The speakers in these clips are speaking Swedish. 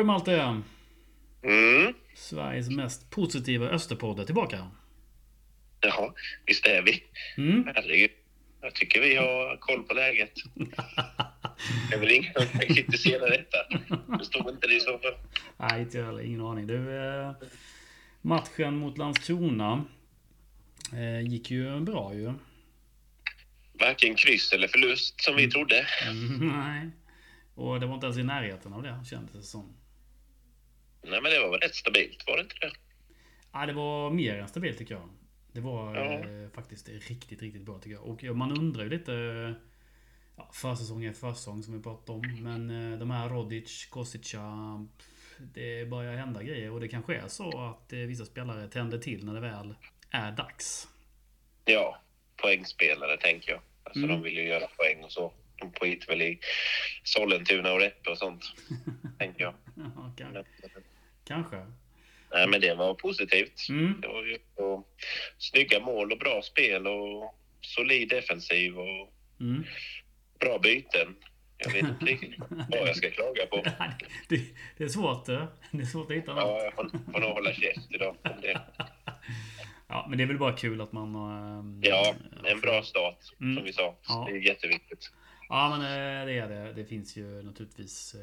du Malte. Mm. Sveriges mest positiva Österpodd är tillbaka. Ja, visst är vi. Herregud. Jag tycker vi har koll på läget. Det är väl ingen som kan kritisera detta. Förstår inte det så. Nej, inte heller. Ingen aning. Matchen mot Landskrona gick ju bra ju. Varken kryss eller förlust som vi trodde. Nej. Och det var inte ens i närheten av det, kändes det som. Nej, men det var väl rätt stabilt, var det inte det? Ja, det var mer än stabilt tycker jag. Det var faktiskt riktigt, riktigt bra tycker jag. Och man undrar ju lite... försäsong är försäsong som vi pratade om. Men de här Rodic, Kosica... Det börjar hända grejer. Och det kanske är så att vissa spelare tänder till när det väl är dags. Ja, poängspelare tänker jag. Alltså de vill ju göra poäng och så. De pågick väl i Sollentuna och Räppe och sånt. Tänker jag. Ja, kanske. Nej, men det var positivt. Det var ju snygga mål och bra spel och solid defensiv och bra byten. Jag vet inte riktigt vad jag ska klaga på. Det är svårt. Det är svårt att hitta något. Ja, jag får nog hålla käft idag om det. Ja, men det är väl bara kul att man... Ja, en bra start som vi sa. Ja. Det är jätteviktigt. Ja, men det är det. Det finns ju naturligtvis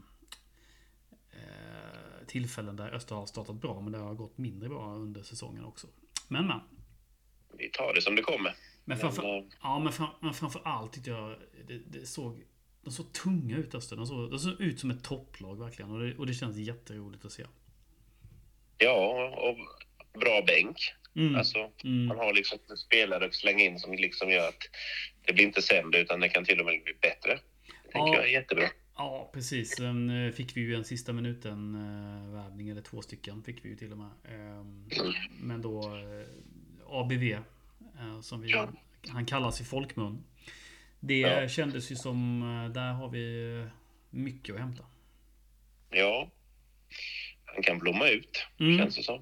tillfällen där Öster har startat bra, men det har gått mindre bra under säsongen också. Men. Vi tar det som det kommer. Men framför allt tyckte jag de såg tunga ut Öster. De såg ut som ett topplag verkligen. Och det känns jätteroligt att se. Ja, och bra bänk. Man har liksom spelare att slänga in som liksom gör att det blir inte sämre utan det kan till och med bli bättre. Det tänker jag är jättebra. Ja, precis. Sen fick vi ju en sista minuten värvning, eller 2 stycken fick vi ju till och med. Men då ABV, som han kallas i folkmun. Det kändes ju som, där har vi mycket att hämta. Ja, han kan blomma ut, känns det som.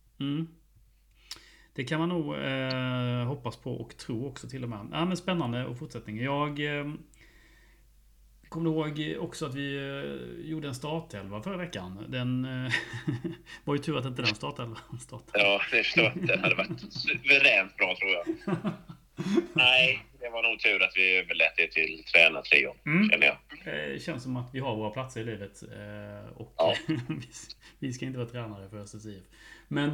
Det kan man nog hoppas på och tro också till och med. Ja, men spännande och fortsättning. Jag kommer ihåg också att vi gjorde en startelva förra veckan. Den var ju tur att inte den startelvan startade. Ja, det förstår jag. Det hade varit suveränt bra tror jag. Nej, det var nog tur att vi överlät det till tränartrion, känner jag. Det känns som att vi har våra platser i livet. Och vi ska inte vara tränare för SSIF. Men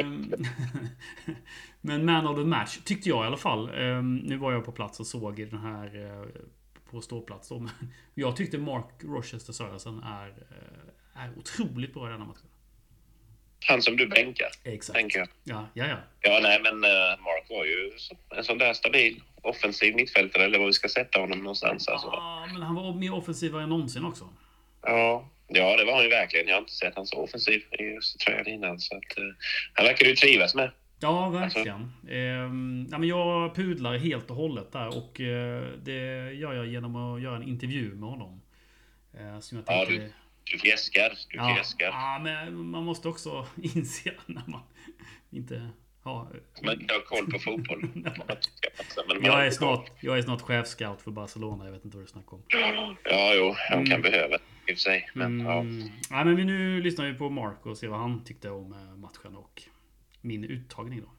men man of the match tyckte jag i alla fall. Nu var jag på plats och såg den här på ståplats. Jag tyckte Mark Rochester Sörensen är otroligt bra i denna matchen. Han som du bänkar. Exakt. Tänker jag. Ja. Ja, nej, men Mark var ju en sån där stabil offensiv mittfältare, eller vad vi ska sätta honom någonstans. Alltså. Ja, men han var mer offensiv än någonsin också. Ja, det var han ju verkligen. Jag har inte sett han så offensiv i just tröjan innan. Så att, han verkar ju trivas med. Ja, verkligen. Men jag pudlar helt och hållet där. Och det gör jag genom att göra en intervju med honom. Som jag tänkte... Du fjäskar. Ja, men man måste också inse när man inte har... Man inte har koll på fotboll. Jag är snart chefscout för Barcelona. Jag vet inte vad du snackar om. Ja, jag kan behöva i och för sig. Men, men nu lyssnar vi på Mark och ser vad han tyckte om matchen och min uttagning då.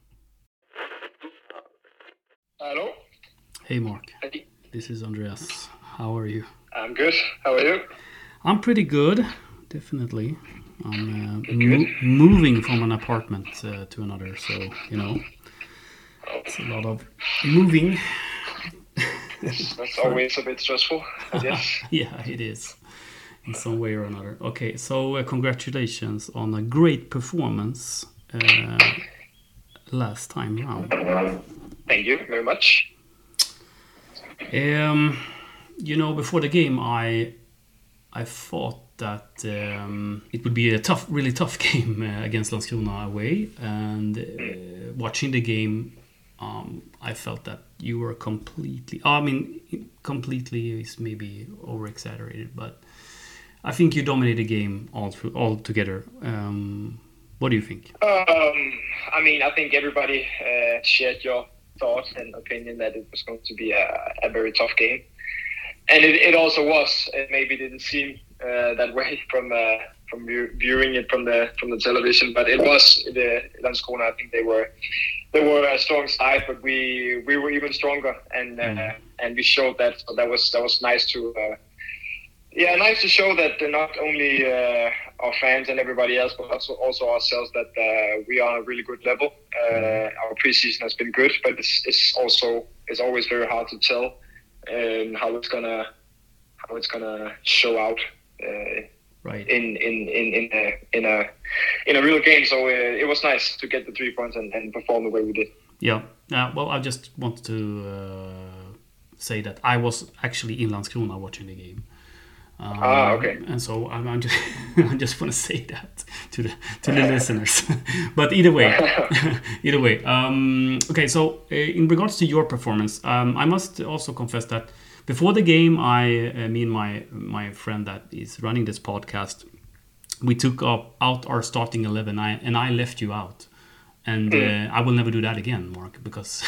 Hello. Hey Mark. Hey. This is Andreas. How are you? I'm good. How are you? I'm pretty good, definitely. I'm moving from an apartment to another, so it's a lot of moving. That's always a bit stressful, I guess. Yeah, it is, in some way or another. Okay, so congratulations on a great performance last time round. Thank you very much. Before the game, I thought that it would be a really tough game against Landskrona away, and watching the game, I felt that you were completely... completely is maybe over-exaggerated, but I think you dominated the game all together. What do you think? I think everybody shared your thoughts and opinion that it was going to be a very tough game. And it also was. It maybe didn't seem that way from viewing it from the television. But it was the Landskrona. I think they were a strong side, but we were even stronger, and we showed that. So that was nice to. Nice to show that not only our fans and everybody else, but also ourselves, that we are on a really good level. Our preseason has been good, but it's always very hard to tell how it's gonna show out right in a real game. So it was nice to get the 3 points and perform the way we did. Yeah. Well, I just wanted to say that I was actually in Landskrona watching the game. Okay. And so I just want to say that to the listeners. But either way. Okay. So in regards to your performance, I must also confess that before the game, me and my friend that is running this podcast, we took out our starting 11, and I left you out. And I will never do that again, Mark, because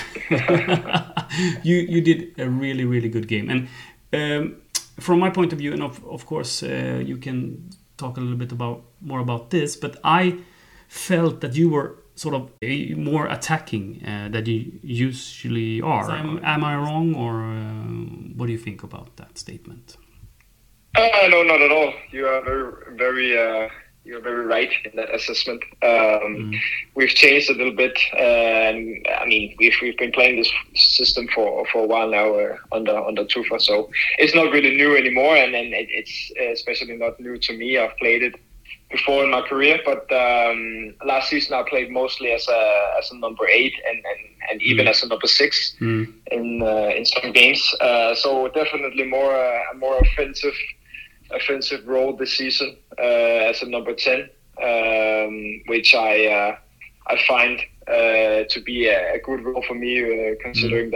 you did a really, really good game. And from my point of view, and of course you can talk a little bit more about this, but I felt that you were sort of more attacking than you usually are. Am I wrong, or what do you think about that statement? No, not at all. You are very you're very right in that assessment. We've changed a little bit, and I mean we've been playing this system for a while now under Tufa, so it's not really new anymore, and it's especially not new to me. I've played it before in my career, but last season I played mostly as a number 8 and even as a number 6 in some games. So definitely a more offensive role this season as a number 10, which I find to be a good role for me, considering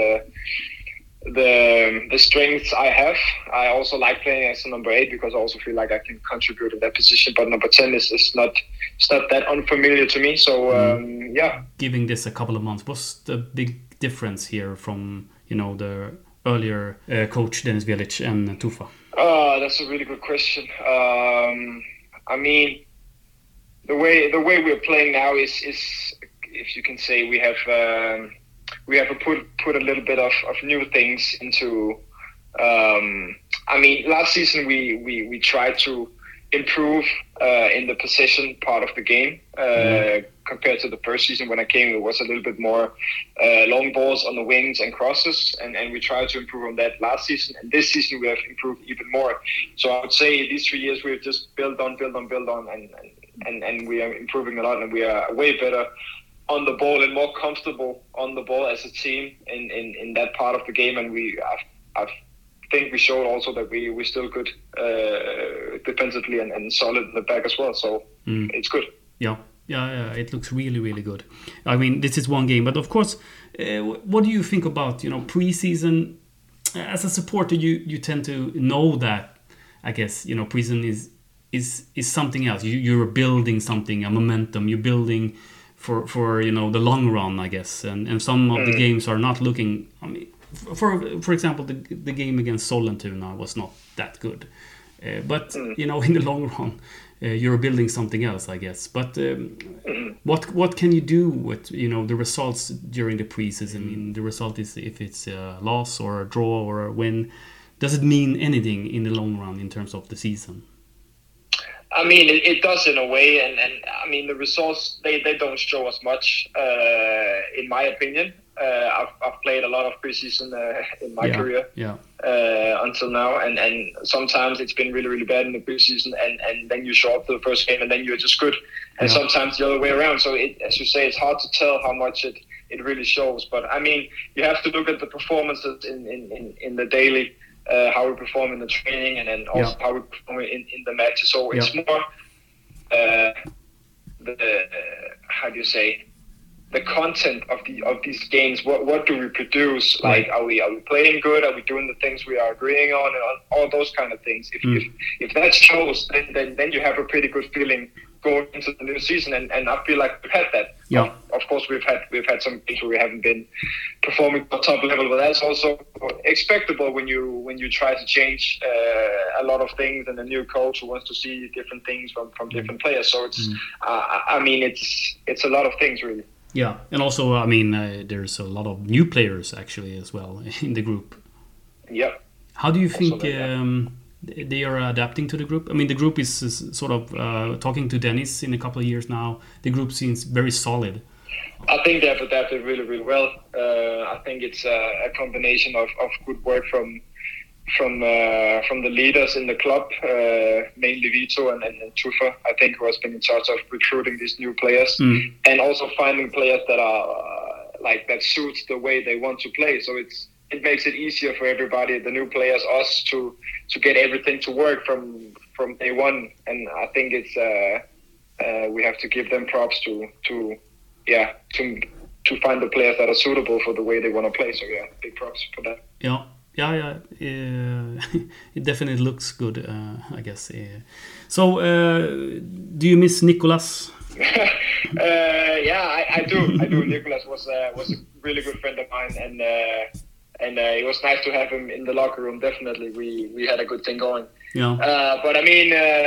the strengths I have. I also like playing as a number 8 because I also feel like I can contribute in that position. But number 10 is not that unfamiliar to me. So Giving this a couple of months, what's the big difference here from the earlier coach Dennis Velic and Tufa? That's a really good question. I mean, the way we're playing now is if you can say we have put a little bit of new things into. I mean, last season we tried to improve in the possession part of the game compared to the first season. When I came, it was a little bit more long balls on the wings and crosses, and we tried to improve on that last season. And this season we have improved even more. So I would say these 3 years we've just built on, and we are improving a lot, and we are way better on the ball and more comfortable on the ball as a team in that part of the game. And I think we showed also that we're still good defensively and solid in the back as well. So it's good. Yeah, it looks really, really good. I mean, this is one game, but of course, what do you think about preseason? As a supporter, you tend to know that. I guess preseason is something else. You're building something, a momentum. You're building for the long run, I guess. And some of the games are not looking. I mean, for example, the game against Sollentuna was not that good. But in the long run, you're building something else, I guess. But what can you do with the results during the preseason? I mean, the result is if it's a loss or a draw or a win. Does it mean anything in the long run in terms of the season? I mean, it does in a way, and I mean the results they don't show us much, in my opinion. I've played a lot of preseason in my career until now, and sometimes it's been really, really bad in the preseason, and then you show up to the first game and then you're just good, and sometimes the other way around. So as you say, it's hard to tell how much it really shows. But I mean, you have to look at the performances in the daily. How we perform in the training, and then also how we perform in the matches. So it's more the content of these games. What do we produce? Like, are we playing good? Are we doing the things we are agreeing on, and all those kind of things? If that shows, then you have a pretty good feeling going into the new season, and I feel like we've had that. Yeah. Of course, we've had some games where we haven't been performing at top level, but that's also expectable when you try to change a lot of things, and a new coach who wants to see different things from different players. So it's, I mean, it's a lot of things really. Yeah, and also, I mean, there's a lot of new players actually as well in the group. Yeah. How do you think they are adapting to the group? I mean, the group is sort of talking to Dennis in a couple of years now. The group seems very solid. I think they've adapted really, really well. I think it's a combination of good work from the leaders in the club, mainly Vito and Tufa, I think, who has been in charge of recruiting these new players, and also finding players that are that suits the way they want to play. So it makes it easier for everybody, the new players, us, to get everything to work from day one. And I think it's we have to give them props to find the players that are suitable for the way they want to play. So yeah, big props for that. Yeah. It definitely looks good, I guess. So, do you miss Nicolas? Yeah, I do. Nicolas was a really good friend of mine, and it was nice to have him in the locker room. Definitely, we had a good thing going. Yeah. But I mean,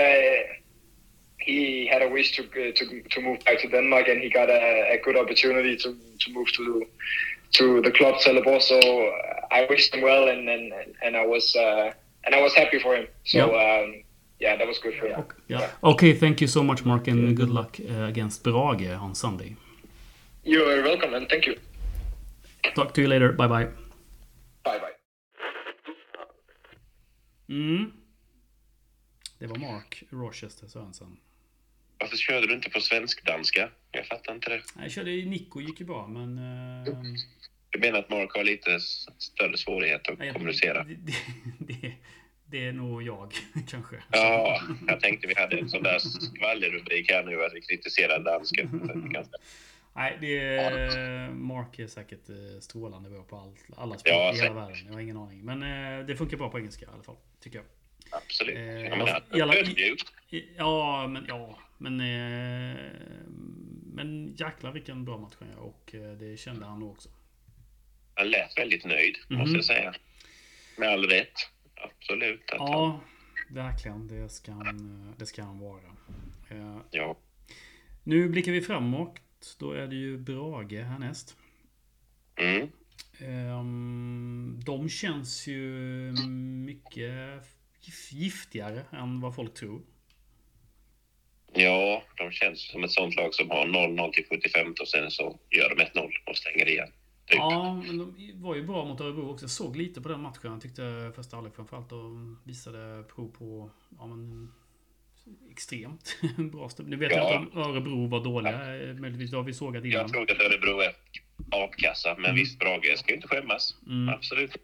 he had a wish to move back to Denmark, and he got a good opportunity to move to the club Trelleborg. So I wished him well, and I was happy for him. So yeah, that was good for him. Okay. Yeah. Okay, thank you so much, Mark, and good luck against Brage on Sunday. You're welcome, and thank you. Talk to you later. Bye bye. Bye bye. Det var Mark Rochester Sörensen. Varför körde du inte på svensk-danska? Jag fattar inte det. Jag körde i Nico, gick ju bra, men... Du menar att Mark har lite större svårighet att kommunicera? Det är nog jag, kanske. Ja, jag tänkte vi hade en sån där skvallerrubrik här nu att vi kritiserar dansken. Nej, Mark är säkert strålande bra på alla språk i hela världen. Jag har ingen aning. Men det funkar bra på engelska i alla fall, tycker jag. Absolut. Men jäklar vilken bra match han gör, och det kände han nog också. Han lät väldigt nöjd, måste jag säga. Med all rätt. Absolut. Ja, verkligen. Det ska han vara. Ja. Nu blickar vi framåt. Då är det ju Brage härnäst. De känns ju mycket giftigare än vad folk tror. Ja, de känns som ett sånt lag som har 0-0 till 75 och sen så gör de 1-0 och stänger igen. Typ. Ja, men de var ju bra mot Örebro också. Jag såg lite på den matchen. Jag tyckte första halvlek framförallt och visade prov på extremt bra stöd. Nu vet jag inte om Örebro var dåliga. Möjligtvis har vi sågat innan. Jag tror att Örebro är apkassa, men visst, Brage ska ju inte skämmas. Absolut.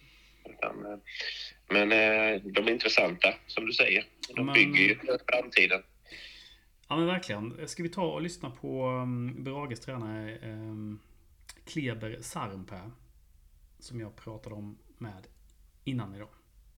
Men de är intressanta, som du säger. De bygger ju framtiden. Ja, men verkligen. Ska vi ta och lyssna på Brages tränare Kleber Sarnpää, som jag pratade om med innan idag.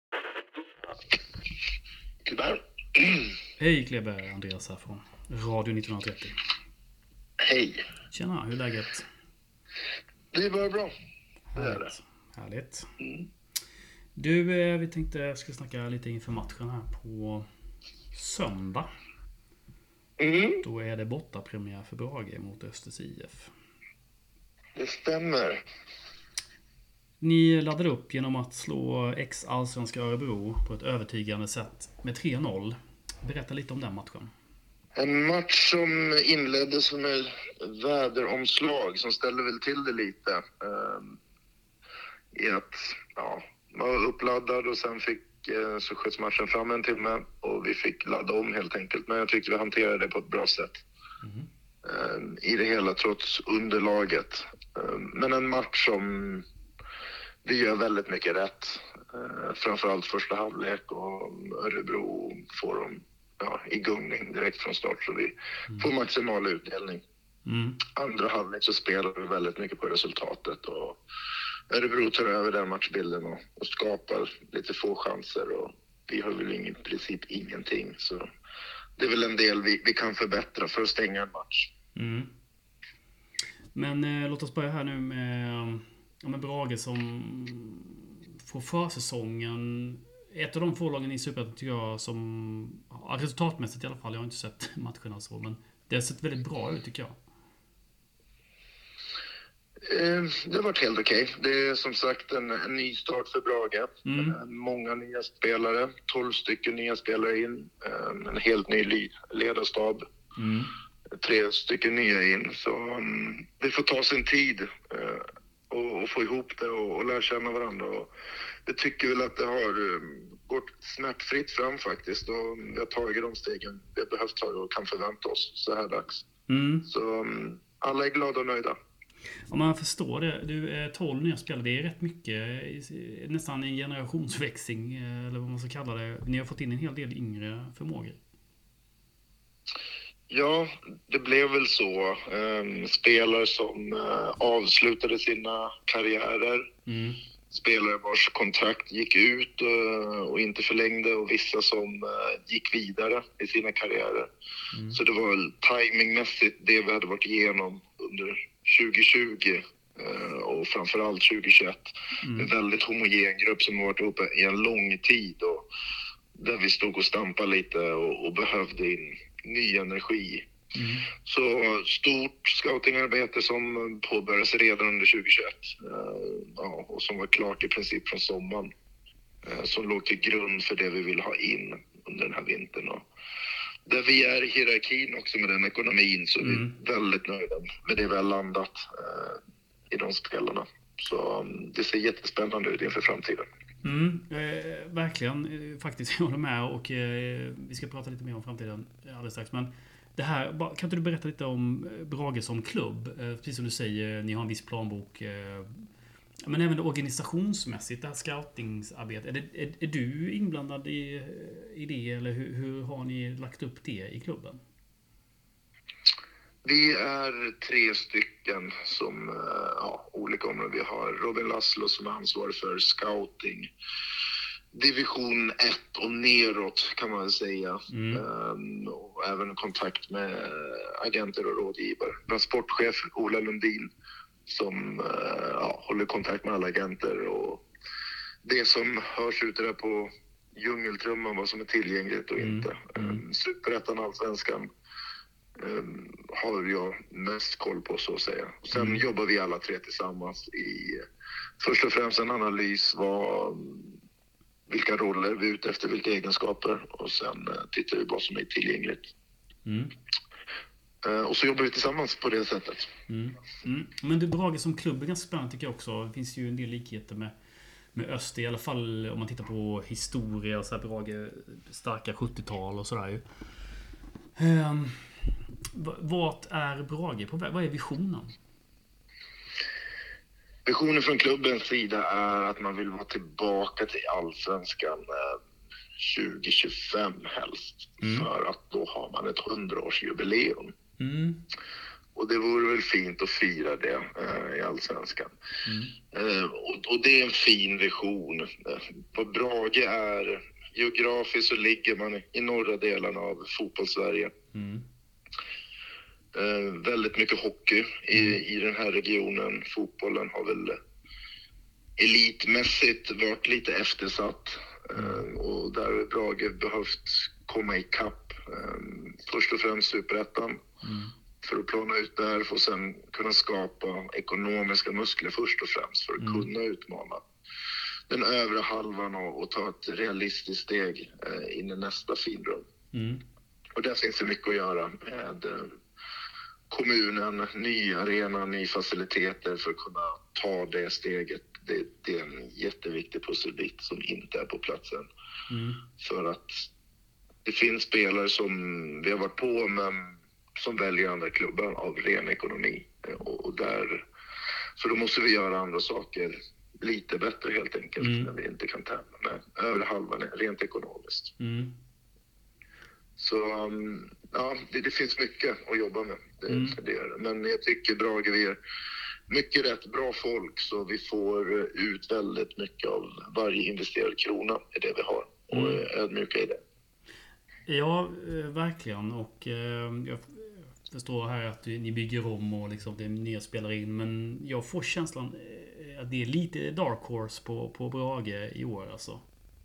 Kleber. Hej Kleber, Andreas här från Radio 1930. Hej. Tjena, hur är läget? Det är bara bra. Härligt. Du, vi tänkte jag ska snacka lite inför matchen här på söndag. Då är det bortapremiär för Brage mot Östers IF. Det stämmer. Ni laddade upp genom att slå ex-allsvenska Örebro på ett övertygande sätt med 3-0. Berätta lite om den matchen. En match som inleddes med väderomslag som ställde väl till det lite. I att man var uppladdad och sen så sköts matchen fram en timme och vi fick ladda om helt enkelt. Men jag tyckte vi hanterade det på ett bra sätt. I det hela, trots underlaget. Men en match som vi gör väldigt mycket rätt. Framförallt första halvlek, och Örebro får dem i gungning direkt från start, så vi får maximal utdelning. Andra halvlek så spelar vi väldigt mycket på resultatet, och Örebro tar över den matchbilden och skapar lite få chanser, och vi har väl i princip ingenting. Så det är väl en del vi kan förbättra för att stänga en match. Mm. Men låt oss börja här nu med Brage som får försäsongen. Ett av de få lagen i Superettan tycker jag som resultatmässigt i alla fall, jag har inte sett matcherna så, men det har sett väldigt bra ut tycker jag. Det har varit helt okej. Det är som sagt en ny start för Brage. Många nya spelare, 12 stycken nya spelare in. En helt ny ledarstab. 3 stycken nya in. Så det får ta sin tid och få ihop det och lära känna varandra. Och jag tycker väl att det har gått smärtfritt fram faktiskt. Och vi har tagit de stegen vi har behövt ta och kan förvänta oss så här dags. Så alla är glada och nöjda. Om man förstår det, du är 12 nya spelare, det är rätt mycket, nästan en generationsväxling eller vad man ska kalla det. Ni har fått in en hel del yngre förmågor. Ja, det blev väl så. Spelare som avslutade sina karriärer. Spelare vars kontrakt gick ut och inte förlängde och vissa som gick vidare i sina karriärer. Så det var väl timingmässigt det vi hade varit igenom under 2020 och framförallt 2021. En väldigt homogen grupp som har varit uppe i en lång tid och där vi stod och stampade lite och behövde in ny energi. Så stort scoutingarbete som påbörjades redan under 2021 och som var klart i princip från sommaren, som låg till grund för det vi vill ha in under den här vintern. Och där vi är i hierarkin också med den ekonomin, så vi är väldigt nöjda med det vi har landat i de spelarna. Så det ser jättespännande ut inför framtiden. Verkligen, faktiskt jag håller med och vi ska prata lite mer om framtiden alldeles strax. Men det här, kan inte du berätta lite om Brage som klubb? Precis som du säger, ni har en viss planbok. Men även organisationsmässigt, det här scoutingsarbetet. Är du inblandad i det eller hur har ni lagt upp det i klubben? Vi är 3 stycken som olika områden. Vi har Robin Laszlo som är ansvarig för scouting. Division 1 och neråt kan man väl säga. Och även kontakt med agenter och rådgivare. Vi har sportchef Ola Lundin som håller kontakt med alla agenter och det som hörs ute där på djungeltrumman, vad som är tillgängligt och inte. Superettan, Allsvenskan har jag mest koll på, så att säga. Sen jobbar vi alla 3 tillsammans i först och främst en analys vilka roller vi är ute efter, vilka egenskaper, och sen tittar vi på vad som är tillgängligt. Och så jobbar vi tillsammans på det sättet. Men det Brage som klubb är ganska spännande tycker jag också. Det finns ju en del likheter med Öster, i alla fall om man tittar på historia och så här. Brage starka 70-tal och sådär ju. Vart är Brage på väg? Vad är visionen? Visionen från klubbens sida är att man vill vara tillbaka till Allsvenskan 2025 helst. För att då har man ett 100-årsjubileum. Och det vore väl fint att fira det i Allsvenskan. Och det är en fin vision. Vad Brage är, geografiskt så ligger man i norra delen av fotbollssverige. Väldigt mycket hockey i den här regionen. Fotbollen har väl elitmässigt varit lite eftersatt. Och där har Brage behövt komma i kapp. Först och främst Superettan. För att plana ut där och sen kunna skapa ekonomiska muskler först och främst för att kunna utmana den övre halvan och ta ett realistiskt steg in i nästa finrum. Och där finns det mycket att göra med kommunen, ny arena, ny faciliteter för att kunna ta det steget. Det är en jätteviktig pusselbit som inte är på platsen. För att det finns spelare som vi har varit på men som väljer andra klubbar av ren ekonomi. Och där, så då måste vi göra andra saker lite bättre helt enkelt när vi inte kan tävla med över halvan rent ekonomiskt. Så det finns mycket att jobba med. Men jag tycker Brage, vi är mycket rätt bra folk så vi får ut väldigt mycket av varje investerad krona i det vi har och är ödmjuka i det. Ja, verkligen. Och jag förstår här att ni bygger om och liksom det är nya spelare in. Men jag får känslan att det är lite dark horse på Brage i år alltså.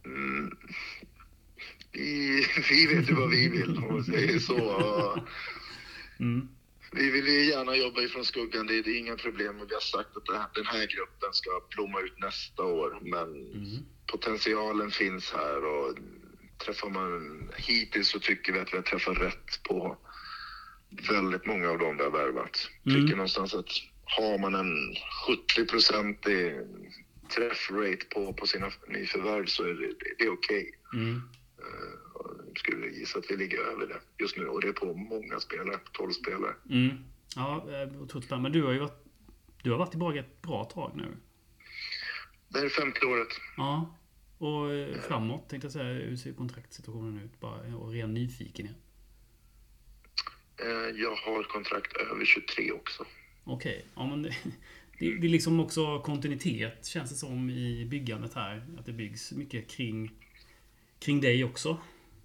Vi vet ju vad vi vill, om man säger så. Vi vill ju gärna jobba ifrån skuggan, det är inga problem. Och vi har sagt att den här gruppen ska blomma ut nästa år. Men potentialen finns här, och träffar man hittills så tycker vi att vi har träffat rätt på väldigt många av dem vi har värvat. Tycker någonstans att har man en 70% träffrate på sina nyförvärv så är det okej. Skulle gissa att vi ligger över det just nu, och det är på många spelare, 12 spelare. Ja, otroligt spännande. Men du har varit i Brage ett bra tag nu. Det är 50 året. Ja, och framåt tänkte jag säga, hur ser kontraktsituationen ut? Bara och ren nyfikenhet. Jag har kontrakt över 23 också. Okej, ja men det är liksom också kontinuitet känns det som i byggandet här. Att det byggs mycket kring dig också.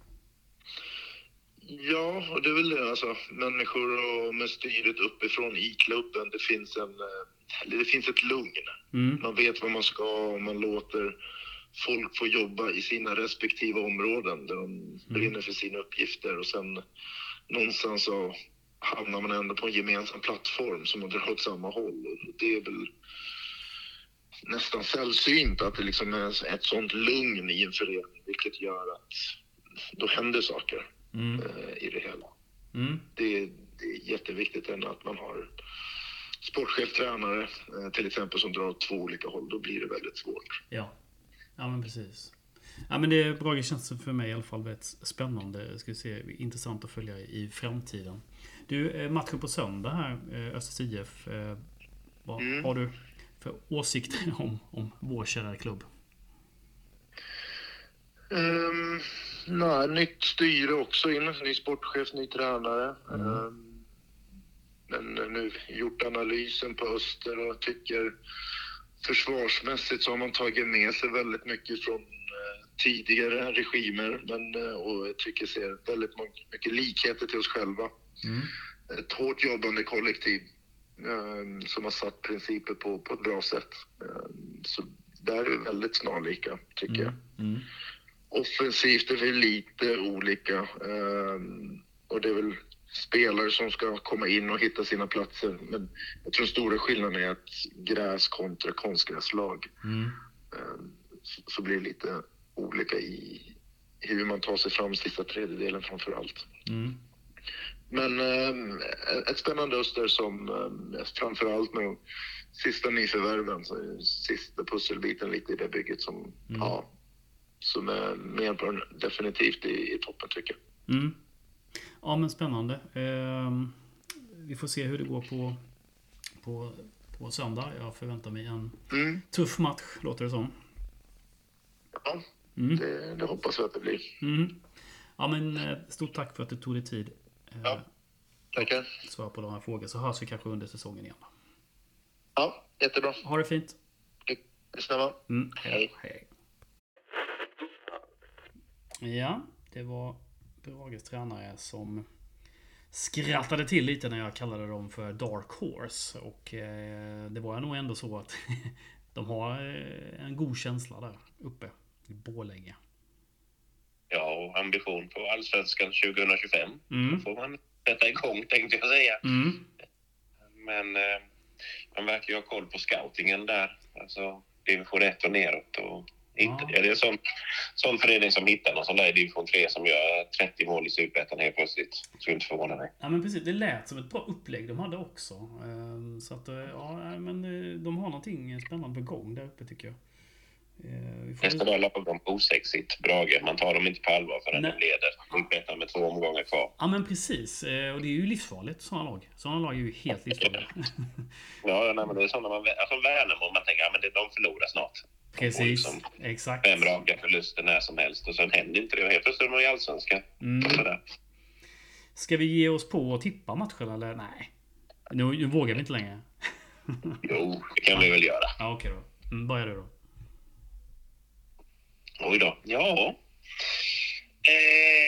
Ja, och det är väl det alltså. Människor och med styret uppifrån i klubben, det finns ett lugn. Man vet vad man ska, och man låter folk få jobba i sina respektive områden där de brinner för sina uppgifter, och sen någonstans så hamnar man ändå på en gemensam plattform som man drar åt samma håll. Och det är väl nästan sällsynt att det liksom är ett sånt lugn i en förening, vilket gör att då händer saker i det hela. Det är jätteviktigt än att man har sportchef, tränare till exempel som drar åt 2 olika håll. Då blir det väldigt svårt. Ja men precis. Ja, men det är bra, känns för mig i alla fall väldigt spännande. Ska vi se, intressant att följa i framtiden. Du, matchen på söndag här, Östers IF. Vad har du för åsikter om vår kära klubb? Nytt styre också in, ny sportchef, ny tränare. Men nu gjort analysen på Öster och tycker försvarsmässigt så har man tagit med sig väldigt mycket från tidigare regimer, och jag tycker ser väldigt mycket likheter till oss själva. Ett hårt jobbande kollektiv som har satt principer på ett bra sätt. Så där är vi väldigt snarlika, tycker jag. Offensivt är vi lite olika, och det är väl spelare som ska komma in och hitta sina platser. Men jag tror stora skillnaden är att gräs kontra konstgräslag så blir det lite olika i hur man tar sig fram sista tredjedelen framför allt. Men ett spännande Öster som framför allt med sista nyförvärven, så sista pusselbiten lite i det bygget som som är med definitivt i toppen, tycker jag. Ja, men spännande. Vi får se hur det går på söndag. Jag förväntar mig en tuff match, låter det som. Ja, det hoppas jag att det blir. Ja, men stort tack för att du tog dig tid. Ja, tackar. Svara på de här frågorna, så hörs vi kanske under säsongen igen. Ja, jättebra. Ha det fint. Detsamma. Hej. Ja, det var Brages tränare som skrattade till lite när jag kallade dem för Dark Horse. Och det var nog ändå så att de har en god känsla där uppe i Borlänge. Ja, och ambition på Allsvenskan 2025. Då får man sätta igång, tänkte jag säga. Men man verkar ju ha koll på scoutingen där. Alltså division 1 och neråt. Och inte, det är en sån förening som hittar någon sån där i division 3 som gör 30 mål i Superettan helt plötsligt. Så inte förvåna mig. Ja, men precis. Det lät som ett bra upplägg de hade också. Så att, men de har någonting spännande på gång där uppe, tycker jag. Nästa dag lappar de osexigt, Brage. Man tar dem inte på allvar förrän de leder. Superettan med 2 omgångar kvar. Ja, men precis. Och det är ju livsfarligt, sådana lag. Sådana lag är ju helt livsfarliga. Ja, men det är sådana man... Alltså Värnamo, man tänker att de förlorar snart. Precis, liksom exakt. 5 raka förluster när som helst. Och sen händer inte det. Helt plötsligt är de i Allsvenskan. Ska vi ge oss på att tippa matchen, eller? Nej. Nu vågar vi inte längre. Jo, det kan vi väl göra. Ja, okej då. Börjar du då. Oj då. Ja.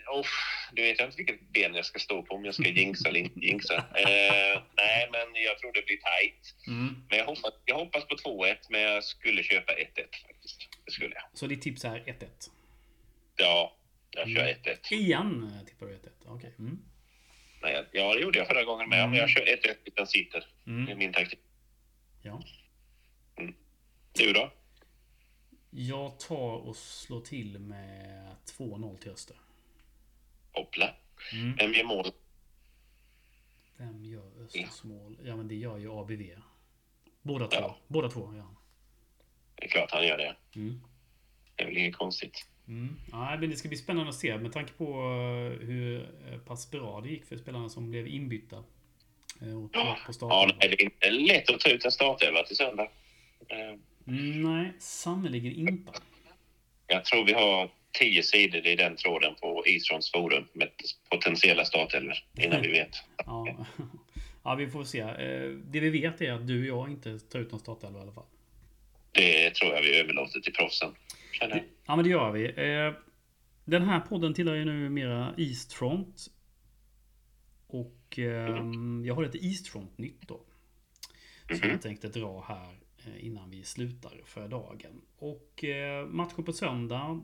Du vet jag inte vilket ben jag ska stå på, om jag ska jinxa eller inte jinxa. Nej, men jag tror det blir tajt. Men jag hoppas på 2-1, men jag skulle köpa 1-1 faktiskt. Det skulle jag. Så ditt tips är 1-1? Ja, jag kör 1-1. Igen tippar du 1-1? Okej. Nej, ja, det gjorde jag förra gången med. Men jag kör 1-1 utan sitter. Det är min taktik. Ja. Du då? Jag tar och slår till med 2-0 till Öster. Hoppla. Vem gör mål? Vem gör Östers mål? Ja, men det gör ju ABV. Båda två, ja. Det är klart han gör det. Det är väl inget konstigt. Ja, men det ska bli spännande att se med tanke på hur pass bra det gick för spelarna som blev inbytta. På starten. Ja, det är inte lätt att ta ut en startelva till söndag. Nej, sannoliken inte. Jag tror vi har 10 sidor i den tråden på Eastrons forum med potentiella startelvor innan vi vet. Ja, vi får se. Det vi vet är att du och jag inte tar ut någon startelva i alla fall. Det tror jag vi överlåter till proffsen. Ja, men det gör vi. Den här podden tillhör ju nu mera Eastfront. Och jag har ett Eastfront-nytt då. Som jag tänkte dra här innan vi slutar för dagen. Och matchen på söndag,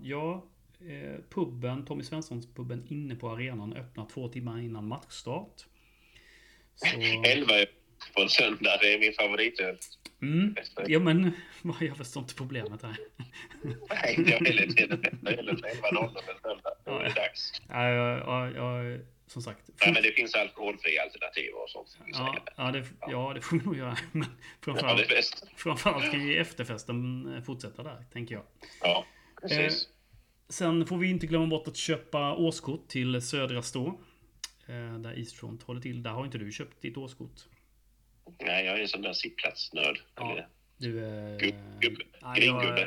Tommy Svenssons puben inne på arenan öppnar 2 timmar innan matchstart. Så... 11 på en söndag, det är min favoritöl. Ja, men jag förstår inte problemet här. Nej, jag vill inte. Jag vill inte 11:00 på en söndag. Då är det dags. Ja, som sagt. Nej, men det finns alkoholfria alternativ och sånt. Det får vi nog göra. Men framförallt kan ju efterfesten fortsätta där, tänker jag. Ja, precis. Sen får vi inte glömma bort att köpa årskort till Södra Stå. Där Eastfront håller till. Där har inte du köpt ditt årskort. Nej, jag är en sån där sittplatsnörd. Ja, du är... Gringubbe.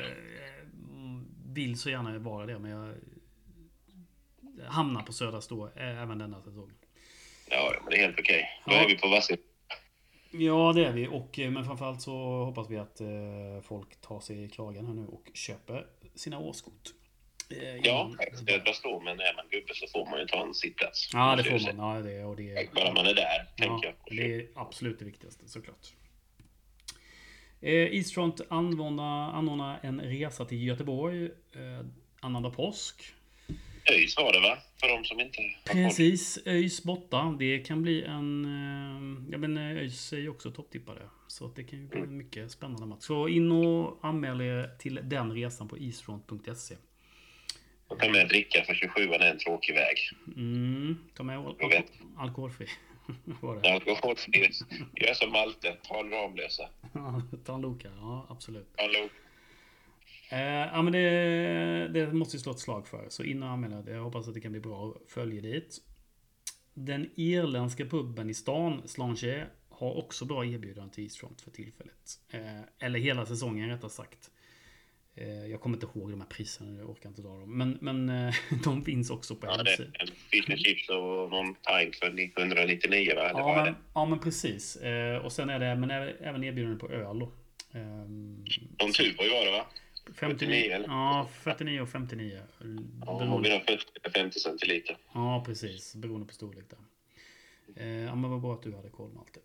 Jag vill så gärna vara det, men jag hamnar på Södra Stå även denna säsong. Ja, men det är helt okej. Då är vi på Vassi. Ja, det är vi. Men framförallt så hoppas vi att folk tar sig i kragen här nu och köper sina årskort. Ja, Södra Stå, men är man gubbe så får man ju ta en sittplats. Ja, det får man. Ja, det bara man är där, tänker jag. Det är absolut det viktigaste, såklart. Eastfront anordnar en resa till Göteborg annandag påsk. ÖIS var det, va? För de som inte har Precis, ÖIS borta. Det kan bli en... Ja, men ÖIS är ju också topptippare. Så det kan ju bli en mycket spännande match. Så in och anmäl er till den resan på eastfront.se. Och ta med dricka, för 27 är en tråkig väg. Ta med alkoholfri. Alkoholfri. Gör som Malte, ta en Ramlösa. Ta en Loka, ja absolut. Ta en Loka. Ja, men det måste ju slå ett slag för. Så in och anmäl. Jag hoppas att det kan bli bra följe dit. Den irländska puben i stan, Slange, har också bra erbjudanden till Eastfront för tillfället. Eller hela säsongen rättare sagt. Jag kommer inte ihåg de här priserna, jag orkar inte dra dem. Men de finns också på det är en fish and chips och någon pint för 199, va? Ja, men precis. Och sen är det även erbjudanden på öl då. De Tuborg var det, va? 59 eller? Ja, 49 och 59. Ja, vi har 50 centiliter. Ja, precis. Beroende på storlek där. Ja, men vad bra att du hade koll med allt.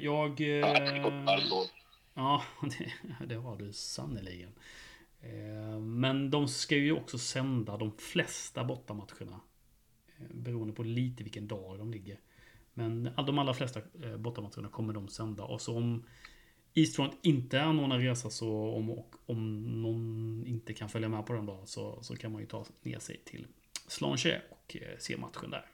Ja, det har du sannoliken. Men de ska ju också sända de flesta bortamatcherna. Beroende på lite vilken dag de ligger. Men de allra flesta bortamatcherna kommer de sända. Och så om Eastfront inte anordnar resa, så om någon inte kan följa med på den dagen, så kan man ju ta ner sig till Slange och se matchen där.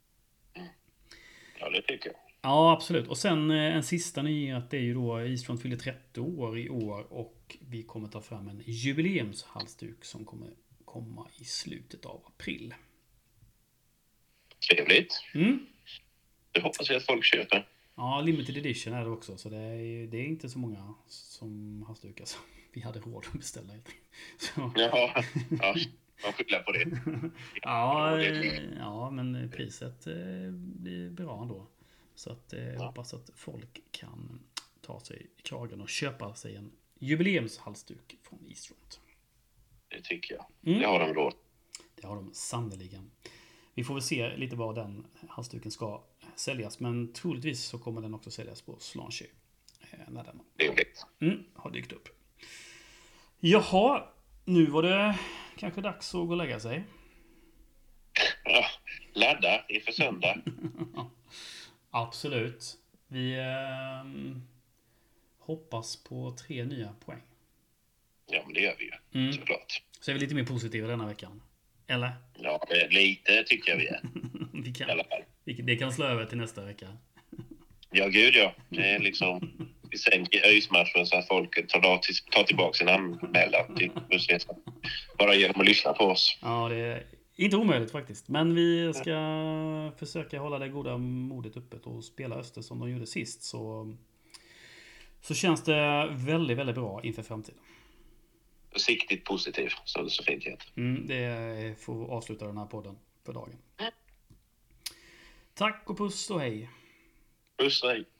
Ja, det tycker jag. Ja, absolut. Och sen en sista nyhet, det är ju då Eastfront fyller 30 år i år och vi kommer ta fram en jubileumshalsduk som kommer komma i slutet av april. Trevligt. Det hoppas jag att folk köper. Ja, limited edition är det också, så det är inte så många som halsdukar som vi hade råd att beställa. Så. Ja, man skyller på det. Ja, men priset blir bra ändå. Så att jag hoppas att folk kan ta sig i kragen och köpa sig en jubileumshalsduk från Eastfront. Det tycker jag. Det har de råd. Det har de sannoliken. vi får väl se lite var den halsduken ska säljas. Men troligtvis så kommer den också säljas på Slanche. När den har dykt upp. Jaha, nu var det kanske dags att gå och lägga sig. Ja, ladda inför söndag. Absolut. Vi hoppas på 3 nya poäng. Ja, men det gör vi ju. Såklart. Så är vi lite mer positiva denna veckan. Eller? Ja, lite tycker jag vi är. Vi kan, i alla fall. Det kan slå över till nästa vecka. Ja, gud ja. Det är liksom... Vi sänker ÖIS-matchen så att folk tar tillbaka sin anmälan till bussresan. Bara genom att lyssna på oss. Ja, det är inte omöjligt faktiskt. Men vi ska försöka hålla det goda modet uppe och spela Öster som de gjorde sist. Så känns det väldigt, väldigt bra inför framtiden. Försiktigt positiv, som det så fint heter. Det får avsluta den här podden för dagen. Tack och puss och hej. Puss och hej.